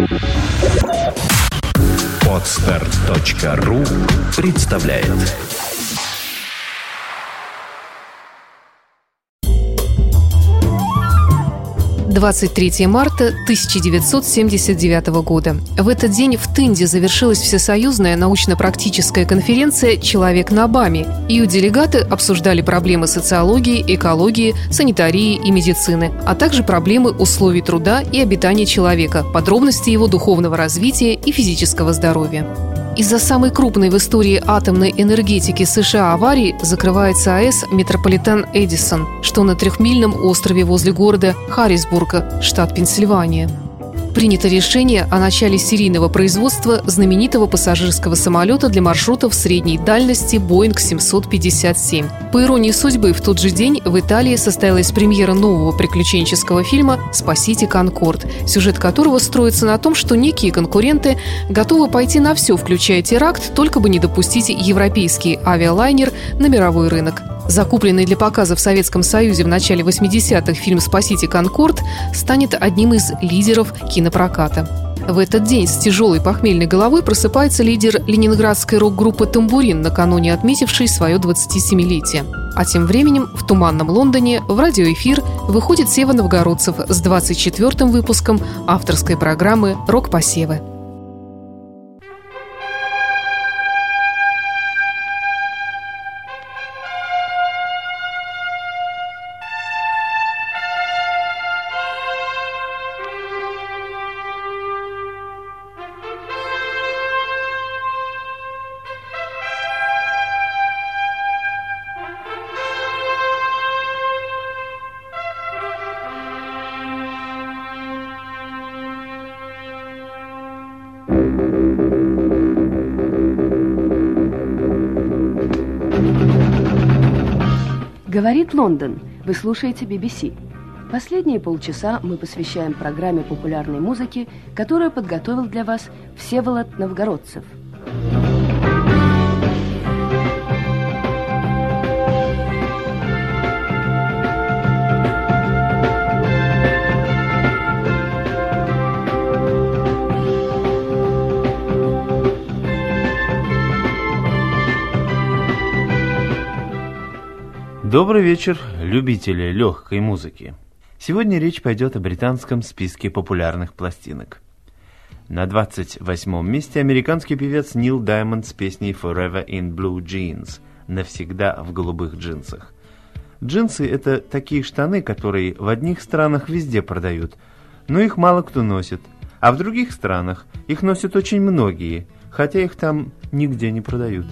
Podster.ru представляет. – 23 марта 1979 года. В этот день в Тынде завершилась всесоюзная научно-практическая конференция «Человек на БАМе». Ее делегаты обсуждали проблемы социологии, экологии, санитарии и медицины, а также проблемы условий труда и обитания человека, подробности его духовного развития и физического здоровья. Из-за самой крупной в истории атомной энергетики США аварии закрывается АЭС «Метрополитен Эдисон», что на 3-мильном острове возле города Харрисбурга, штат Пенсильвания. Принято решение о начале серийного производства знаменитого пассажирского самолета для маршрутов средней дальности Boeing 757. По иронии судьбы, в тот же день в Италии состоялась премьера нового приключенческого фильма «Спасите Конкорд», сюжет которого строится на том, что некие конкуренты готовы пойти на все, включая теракт, только бы не допустить европейский авиалайнер на мировой рынок. Закупленный для показа в Советском Союзе в начале 80-х фильм «Спасите Конкорд» станет одним из лидеров кинопроката. В этот день с тяжелой похмельной головой просыпается лидер ленинградской рок-группы «Тамбурин», накануне отметивший свое 27-летие. А тем временем в туманном Лондоне в радиоэфир выходит Сева Новгородцев с 24-м выпуском авторской программы «Рок-посевы». Говорит Лондон. Вы слушаете BBC. Последние полчаса мы посвящаем программе популярной музыки, которую подготовил для вас Всеволод Новгородцев. Добрый вечер, любители легкой музыки. Сегодня речь пойдет о британском списке популярных пластинок. На 28-м месте американский певец Нил Даймонд с песней «Forever in Blue Jeans» – «Навсегда в голубых джинсах». Джинсы – это такие штаны, которые в одних странах везде продают, но их мало кто носит, а в других странах их носят очень многие, хотя их там нигде не продают.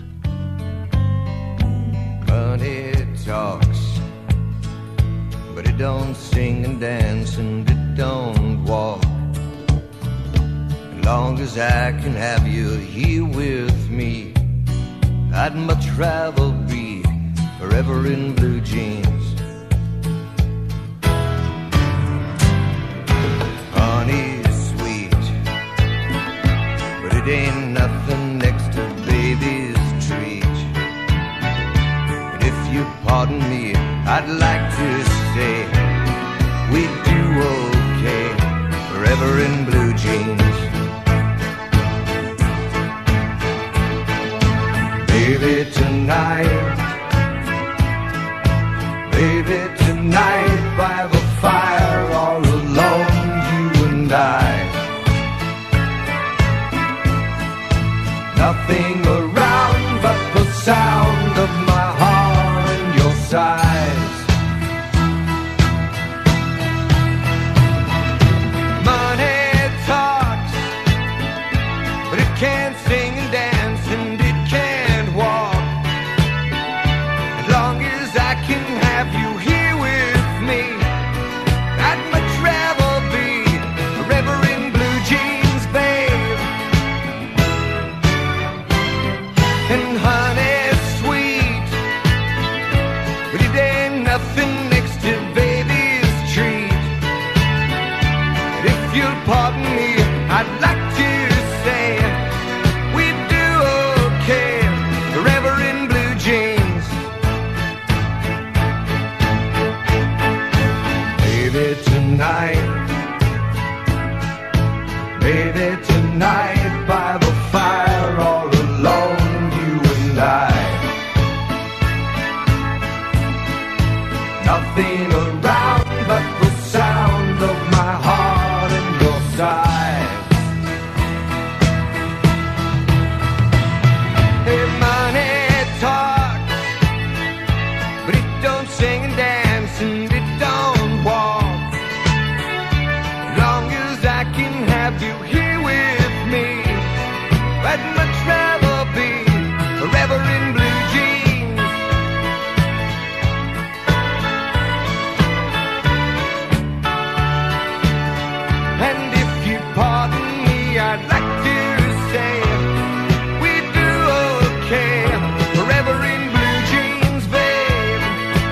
Talks, but it don't sing and dance and it don't walk. As long as I can have you here with me, I'd much rather be forever in blue jeans. Honey's sweet, but it ain't nothing next to baby's treat. Pardon me, I'd like to say we do okay, forever in blue jeans. Baby, tonight by the fire, all alone, you and I. Nothing around but the sound of my heart size. Money talks, but it can't sing and dance and it can't walk. As long as I can have you here with me, I'd much rather be forever in blue jeans, babe. And honey, Lay there tonight by the fire, all alone, you and I. Nothing around but the sound of my heart and your sigh. Hey, money talks, but it don't sing and dance and it don't walk. Long as I can have you here with me, I'd much rather be forever in blue jeans. And if you pardon me, I'd like to say we do okay, forever in blue jeans, babe.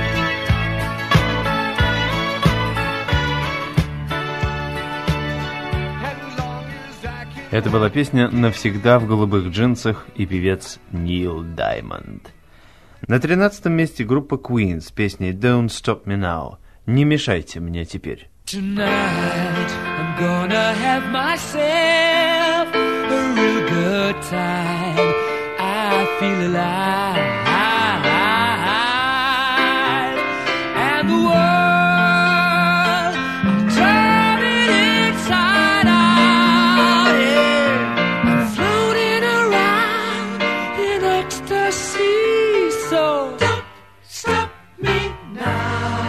And long as I can. Это была песня «Навсегда в голубых джинсах» и певец Нил Даймонд. На 13-м месте группа Queen с песней «Don't Stop Me Now». «Не мешайте мне теперь». Tonight I'm gonna have myself a real good time. I feel alive, and the world I'm turning inside out. Yeah. I'm floating around in ecstasy. So don't stop me now.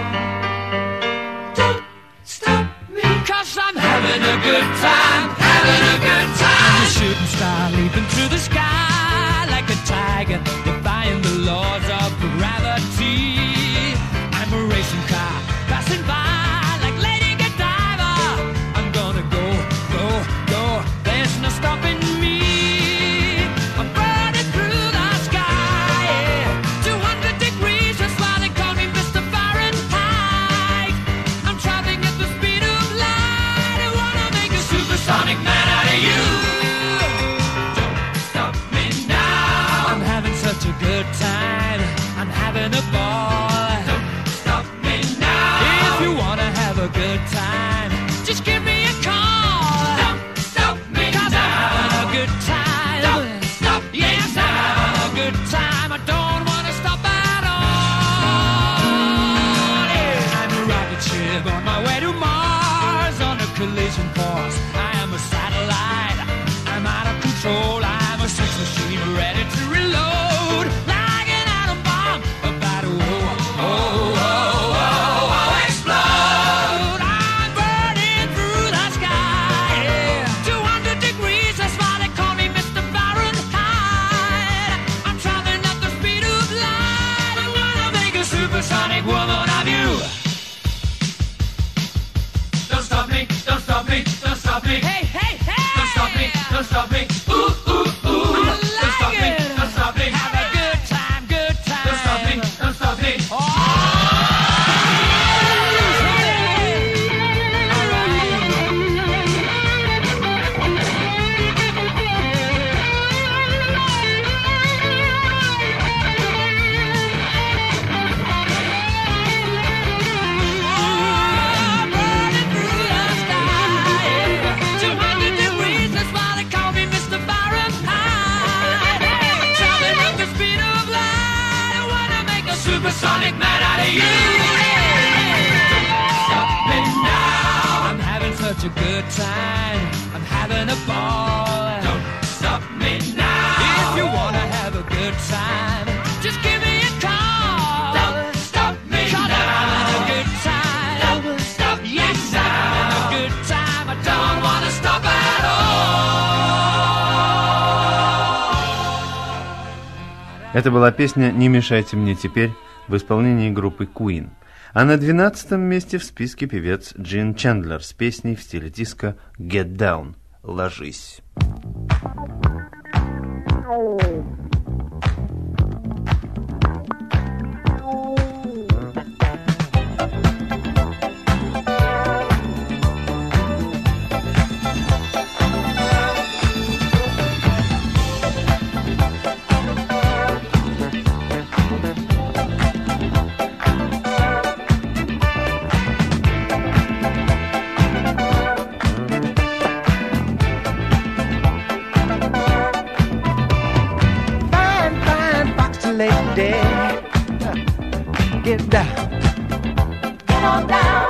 Don't stop me, 'cause I'm having a good time, having a good time. The shooting star leaping through the sky like a tiger, defying the laws of gravity. I'm a racing car passing by like Lady Godiva. I'm gonna go, go, go. There's no stopping me. I'm burning through the sky, yeah. 200 degrees, that's why they call me Mr. Fahrenheit. I'm traveling at the speed of light. I wanna make a supersonic man out of you. Don't stop me now. I'm having such a good time. I'm having a ball. Don't stop me now. If you wanna have a good time, just give me a call. Don't stop me 'cause now. I'm having a good time. Don't stop me yes, now. I'm having a good time. I don't wanna stop at all. Yeah. I'm a rocket ship on my way to Mars on a collision course. I am a satellite. I'm out of control. I'm a sex machine ready to reload like an atom bomb about to explode. I'm burning through the sky, yeah. 200 degrees, that's why they call me Mr. Fahrenheit. I'm traveling at the speed of light. I'm gonna make a supersonic woman of you. Don't stop me, don't stop me, don't stop me. Hey, hey, hey! Don't stop me, don't stop me. Ooh, ooh, ooh. Don't stop me, don't stop me. Have a good time, good time. Don't stop me, don't stop me. Supersonic man out of you. Stop me now. I'm having such a good time. I'm having a ball. Don't stop me now. If you wanna have a good time, just give me a call. Don't stop me 'cause now. I'm having a good time. Don't stop yes, now. I'm having a good time. I don't wanna stop at all. Это была песня «Не мешайте мне теперь» в исполнении группы Queen. А на 12-м месте в списке певец Джин Чендлер с песней в стиле диско «Get Down» – «Ложись». get down. Get on down.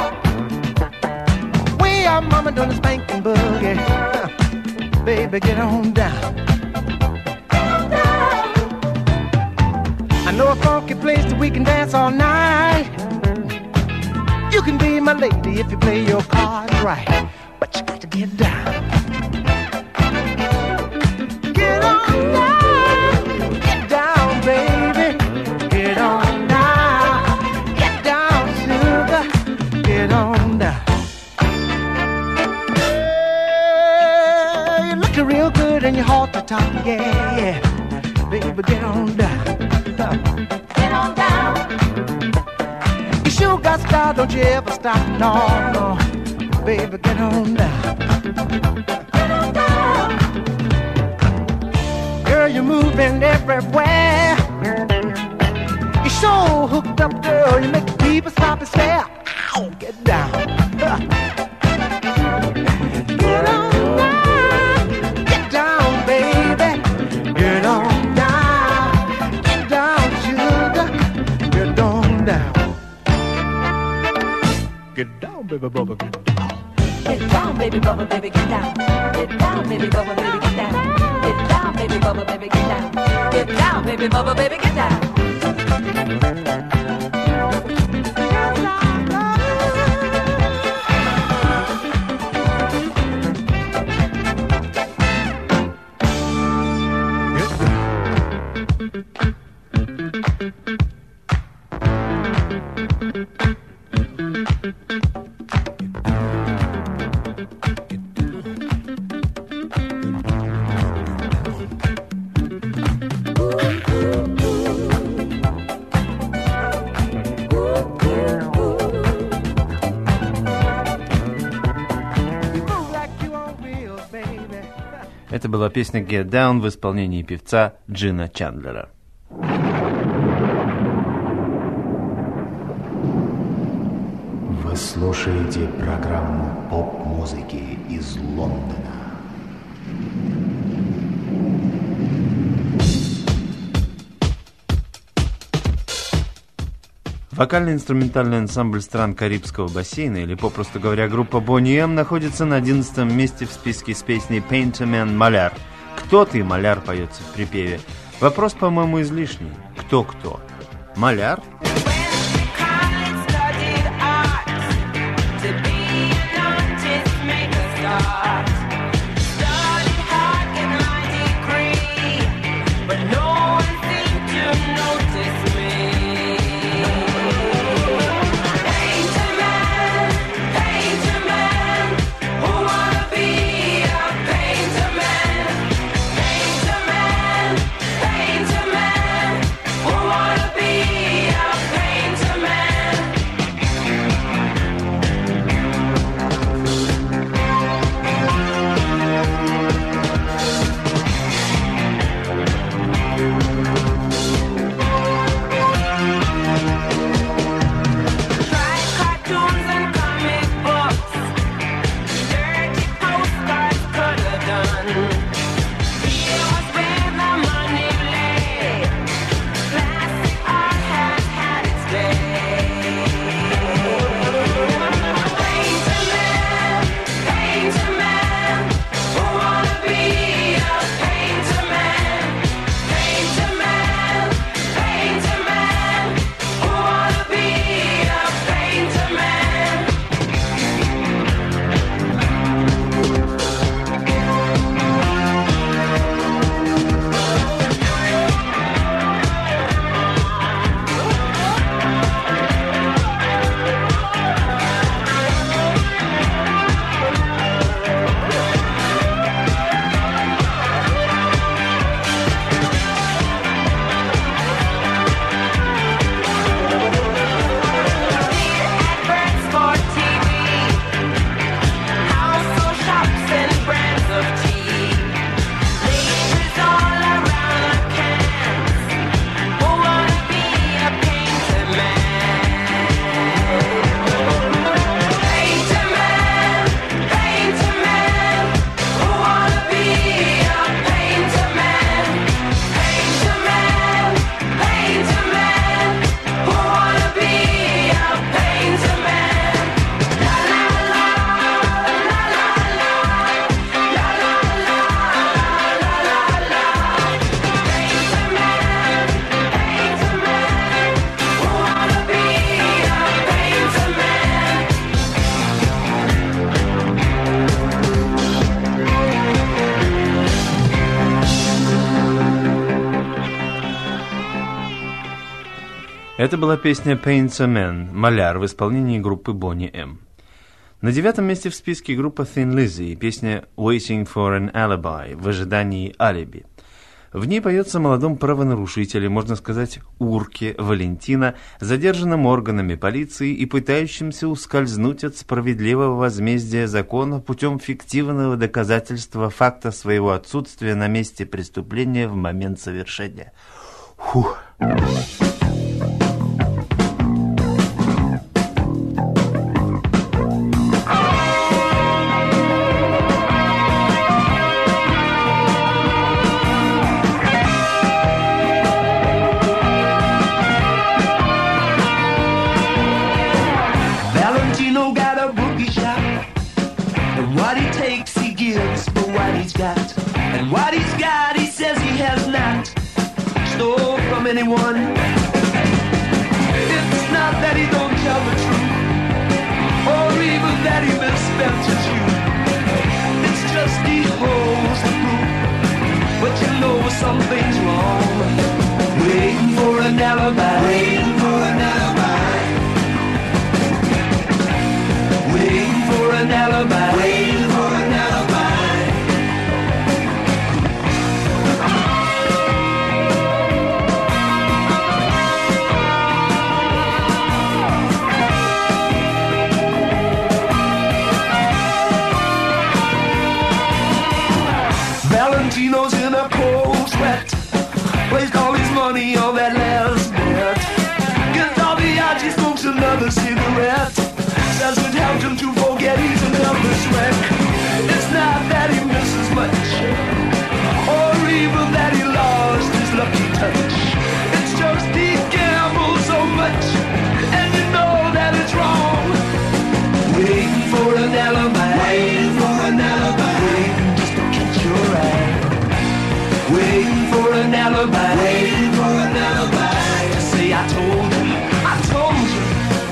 We are mama doing the spanking boogie. Baby, get on down. Get on down. I know a funky place that we can dance all night. You can be my lady if you play your cards right. But you got to get down. Get on down. Get down, baby. Get on down. Get down, sugar. Get on down. You're looking real good and your heart to top, yeah, yeah. Baby, get on down. Get on down. You sure got style, don't you ever stop, no, no. Baby, get on down. Get on down. Girl, you're moving everywhere. You're so hooked up, girl, you make people stop and stare. Ow, get down. Get on down. Get down, baby. Get on down. Get down, sugar. Get on down. Get down, baby, bubba, get down. Get down, baby, bubba, baby, get down. Get down, baby, bubba, baby, get down. Get down, baby, bubba, baby, get down. Get down, baby, bubba, baby, get down. Это была песня «Get Down» в исполнении певца Джина Чандлера. Вы слушаете программу поп-музыки из Лондона. Вокально-инструментальный ансамбль стран Карибского бассейна, или, попросту говоря, группа Boney M, находится на 11-м месте в списке с песней «Painterman» «Маляр». «Кто ты, маляр?» поется в припеве. Вопрос, по-моему, излишний. Кто-кто? Маляр? Be a Это была песня Paints a Man, «Маляр» в исполнении группы Boney M. На 9-м месте в списке группа Thin Lizzy, песня Waiting for an Alibi, в ожидании алиби. В ней поется о молодом правонарушителе, можно сказать, урке Валентина, задержанном органами полиции и пытающимся ускользнуть от справедливого возмездия закона путем фиктивного доказательства факта своего отсутствия на месте преступления в момент совершения. Фух. And what he's got, he says he has not stole from anyone. It's not that he don't tell the truth, or even that he misspent his youth. It's just he holds the proof, but you know something's wrong. Waiting for an alibi, waiting for an alibi, waiting for an alibi, waiting for an alibi. Valentino's in a cold sweat, placed all his money on that last bet. Gets all the odds, he smokes another cigarette, says it helped him to forget he's a nervous wreck. It's not that he misses much, or even that he lost his lucky touch. It's just he gambles so much, and you know that it's wrong. Waiting for an alibi, waiting for an alibi, waiting just to catch your eye. Waiting for an alibi, waiting for an alibi, to say I told you, I told you.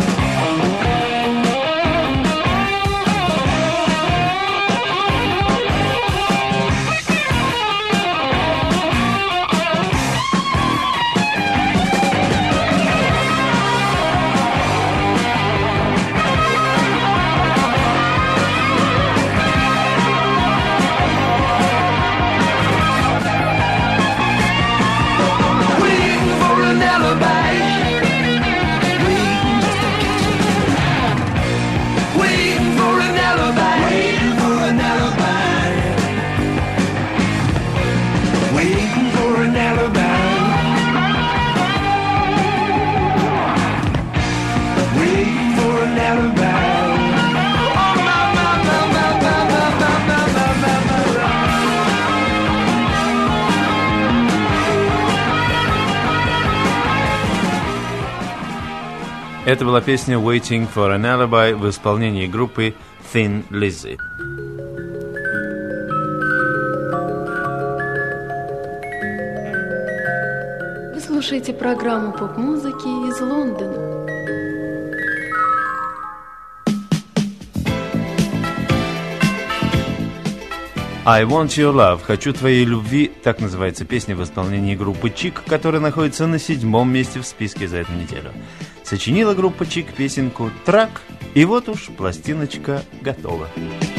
Это была песня Waiting for an Alibi в исполнении группы Thin Lizzy. Вы слушаете программу поп-музыки из Лондона. I Want Your Love, «Хочу твоей любви», так называется песня в исполнении группы Чик, которая находится на 7-м месте в списке за эту неделю. Сочинила группа Чик песенку «Трак», и вот уж пластиночка готова.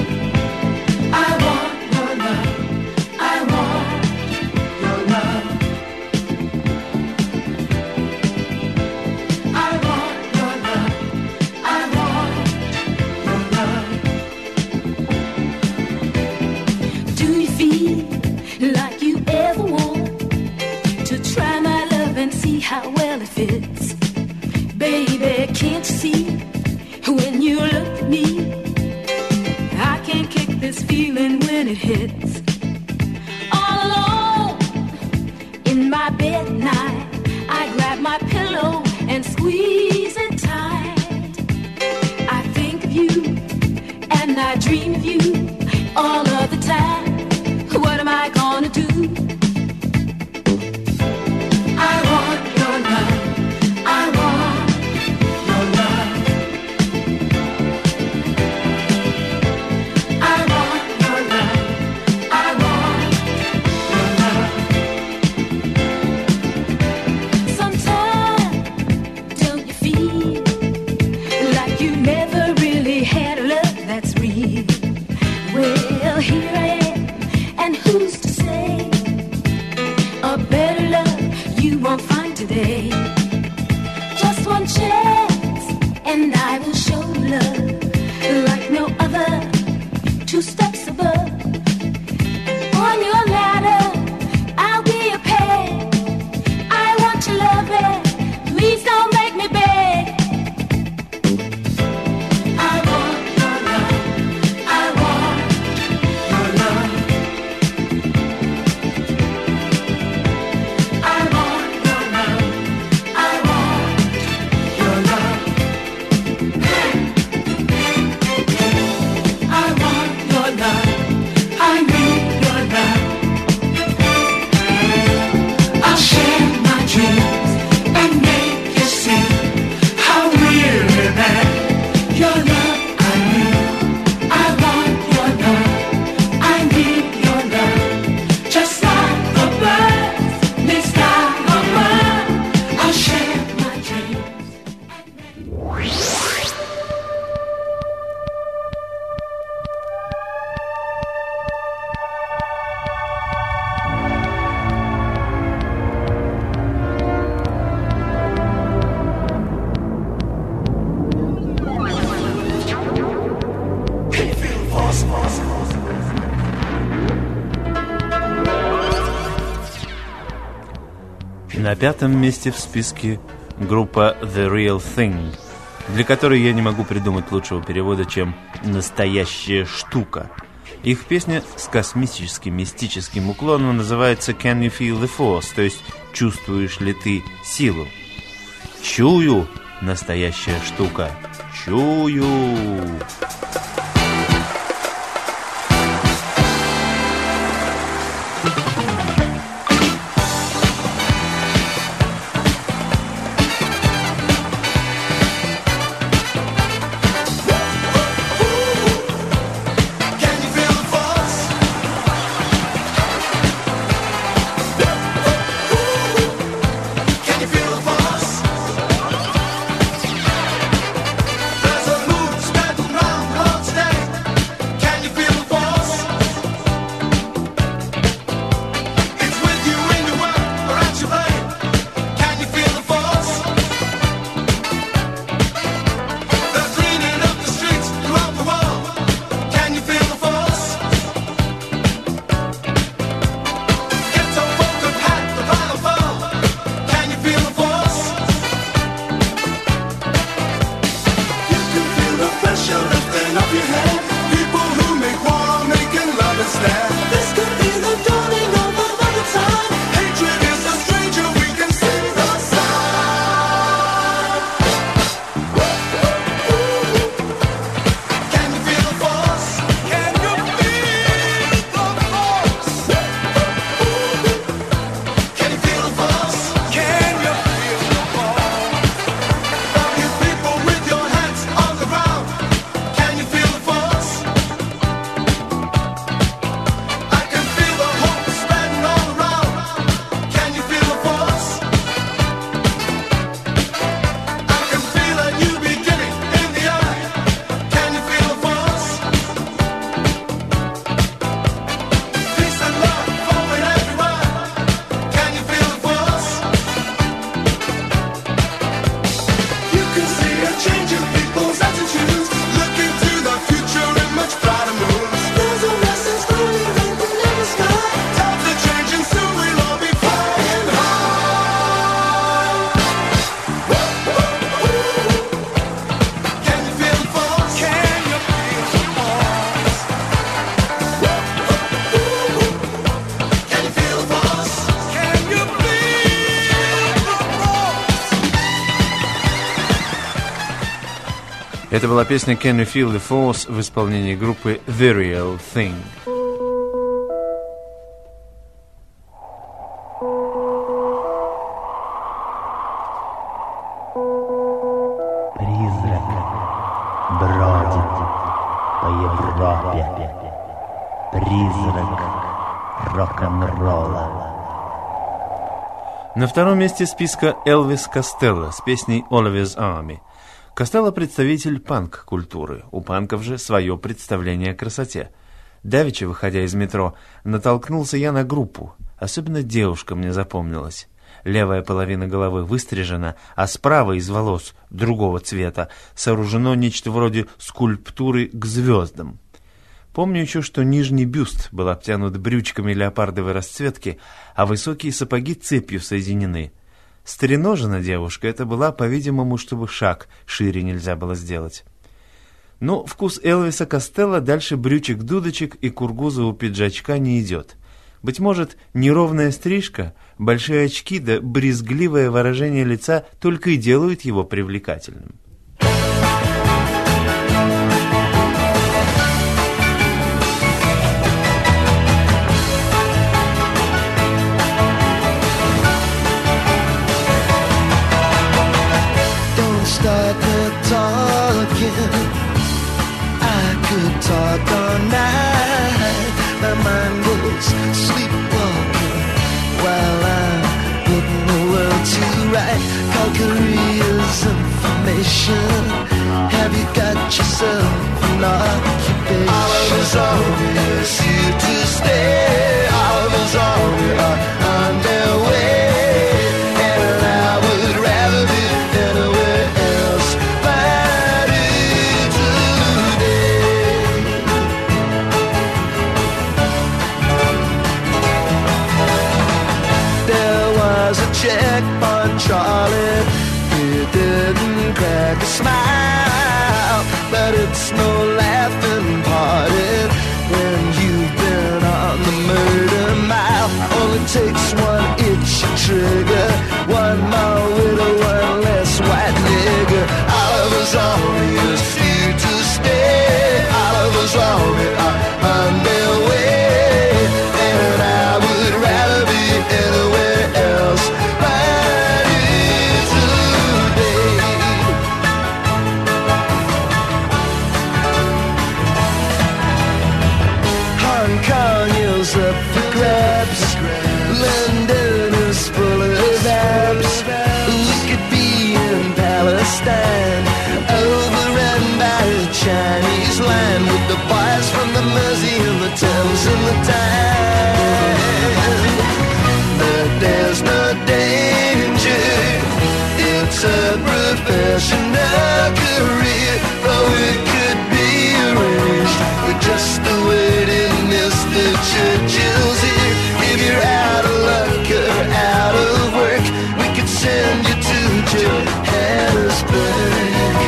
How well it fits, baby, can't you see, when you look at me, I can't kick this feeling when it hits. All alone, in my bed at night, I grab my pillow and squeeze it tight. I think of you, and I dream of you, all of the time. What am I gonna do? I want your love, I want your love, I want your love, I want your love. Sometimes На 5-м месте в списке группа The Real Thing, для которой я не могу придумать лучшего перевода, чем «настоящая штука». Их песня с космическим мистическим уклоном называется «Can you feel the force?», то есть «Чувствуешь ли ты силу?». Чую, настоящая штука, чую. Это была песня «Can You Feel the Force» в исполнении группы The Real Thing. Призрак бродит по Европе. Призрак рок-н-ролла. На 2-м месте списка Элвис Костелло с песней «Oliver's Army». Костелло – представитель панк-культуры. У панков же свое представление о красоте. Давеча, выходя из метро, натолкнулся я на группу. Особенно девушка мне запомнилась. Левая половина головы выстрижена, а справа из волос другого цвета сооружено нечто вроде скульптуры к звездам. Помню еще, что нижний бюст был обтянут брючками леопардовой расцветки, а высокие сапоги цепью соединены. Стреножена девушка, это была, по-видимому, чтобы шаг шире нельзя было сделать. Но вкус Элвиса Костелло дальше брючек-дудочек и кургузового пиджачка не идет. Быть может, неровная стрижка, большие очки да брезгливое выражение лица только и делают его привлекательным. Start the talking. I could talk all night. My mind goes sleepwalking while I'm putting the world to right. Calgary's information. Have you got yourself an occupation? Oliver's always here to stay. Oliver's always on their way. And I would rather be anywhere else but here today. There was a checkpoint Charlie. He didn't crack a smile, but it's no laughing party when you've been on the murder mile. Only takes one itchy trigger, one more widow, one less white nigger. Oliver's Army is here to stay. Oliver's Army are on their way, and I would rather be anywhere else right here today. Hong Kong is up for grabs. London is full of abs. We could be in Palestine, overrun by a Chinese line, with the boys from the Mersey and the Thames and the Tyne. But there's no danger, it's a professional career. Oh, it could be arranged with just a word in Mr. Churchill's ear. If you're out of luck or out of work, we could send you to Johannesburg.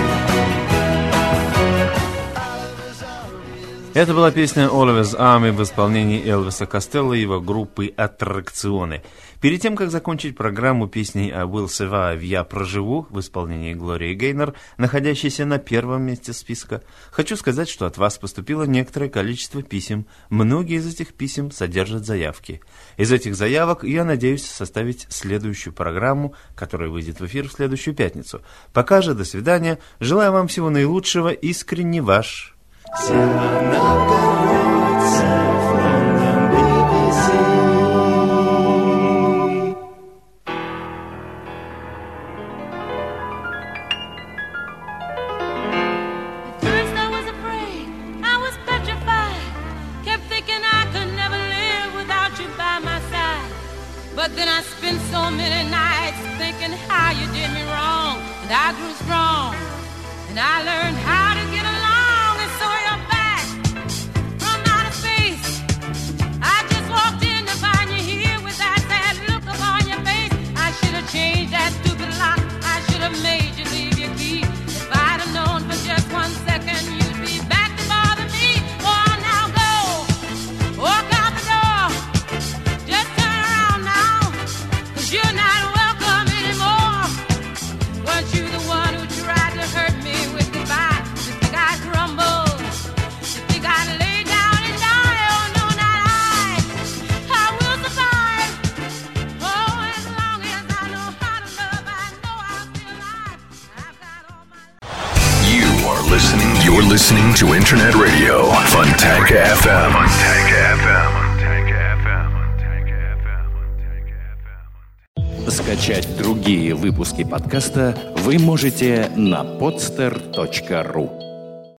Это была песня Oliver's Army в исполнении Элвиса Костелло и его группы «Аттракционы». Перед тем, как закончить программу песней «I Will Survive» «Я проживу» в исполнении Глории Гейнор, находящейся на первом месте списка, хочу сказать, что от вас поступило некоторое количество писем. Многие из этих писем содержат заявки. Из этих заявок я надеюсь составить следующую программу, которая выйдет в эфир в следующую пятницу. Пока же, до свидания. Желаю вам всего наилучшего. Искренне ваш... But then I spent so many nights thinking how you did me wrong, and I grew strong, and I learned how to get along, and so you're back from outer space. I just walked in to find you here with that sad look upon your face. I should have changed that stupid lock, I should have made you leave your key. If I'd have known for just 1 second you'd be back to bother me. Oh, now go, walk out the door, just turn around now, 'cause you're not welcome anymore. Weren't you the one who tried to hurt me with goodbye? You think I'd crumble? You think I'd lay down and die? Oh, no, not I will survive. Oh, as long as I know how to love, I know I'll be alive. I've got all my life. You're listening to Internet Radio, Fontanka FM. Скачать другие выпуски подкаста вы можете на podster.ru.